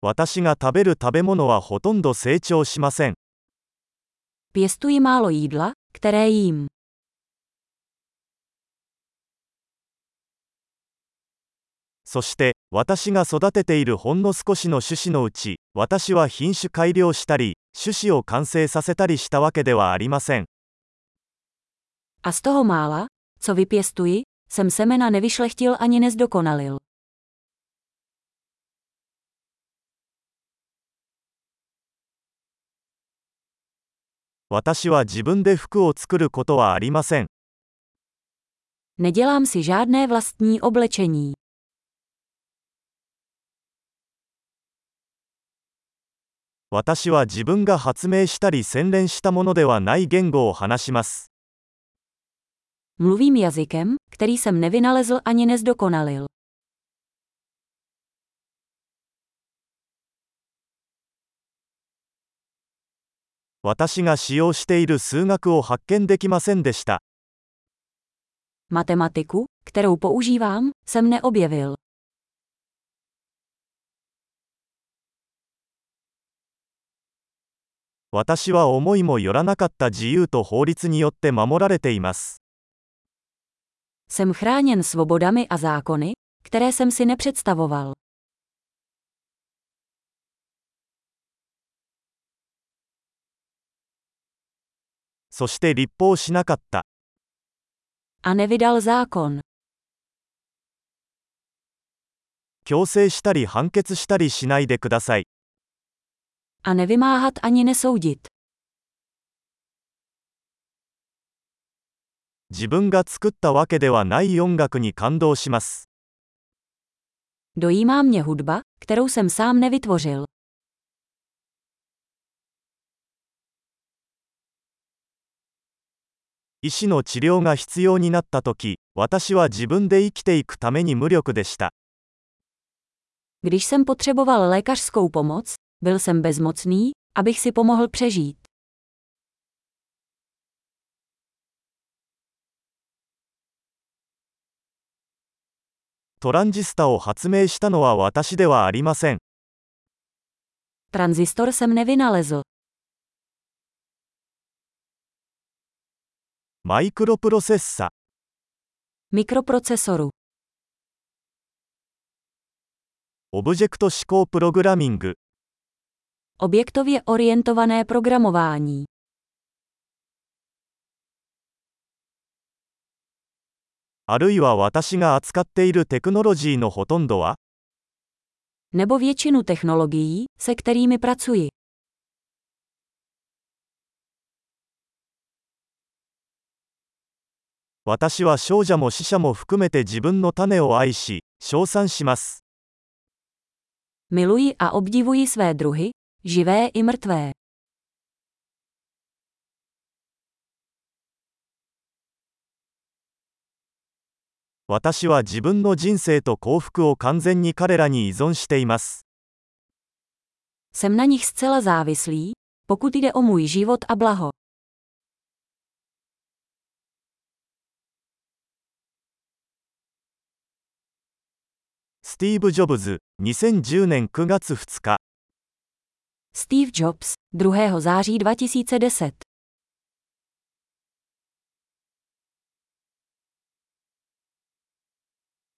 私が食べる食べ物はほとんど成長しません。 Pěstuji málo jídla, které jím. そして、私が育てているほんの少しの種子のうち、私は品種改良したり、種子を完成させたりしたわけではありません。 A z toho mála, co vypěstuji, jsem semena nevyšlechtil ani nezdokonalil. 私は自分で服を作ることはありません。 Nedělám si žádné vlastní oblečení. 私は自分が発明したり洗練したものではない言語を話します。 Mluvím jazykem, který jsem nevynalezl ani nezdokonalil. 私が使用している数学を発見できませんでした。 Matematiku, kterou používám, jsem neobjevil. 私は思いもよらなかった自由と法律によって守られています。 Jsem chráněn svobodami a zákony, které jsem si nepředstavoval. そして立法しなかった。 A nevydal zákon. 強制したり判決したりしないでください。 A nevymáhat ani nesoudit. 自分が作ったわけではない音楽に感動します。 Dojímá mě hudba, kterou jsem sám nevytvořil. 医師の治療が必要になったとき、私は自分で生きていくために無力でした。 Když jsem potřeboval lékařskou pomoc, byl jsem bezmocný, abych si pomohl přežít. トランジスタを発明したのは私ではありません。 Tranzistor jsem nevynalezl. マイクロプロセッサ。 Mikroprocesoru. オブジェクト指向プログラミング。 Objektově orientované programování. あるいは私が扱っているテクノロジーのほとんどは Nebo většinu technologií, se kterými pracuji. 私は少女も死者も含めて自分の種を愛し、称賛します。 Miluji a obdivuji své druhy, živé i mrtvé. 私は自分の人生と幸福を完全に彼らに依存しています。 Jsem na nich zcela závislý, pokud jde o můj život a blaho. スティーブ・ジョブズ、2010年9月2日。 Steve Jobs, 2. září 2010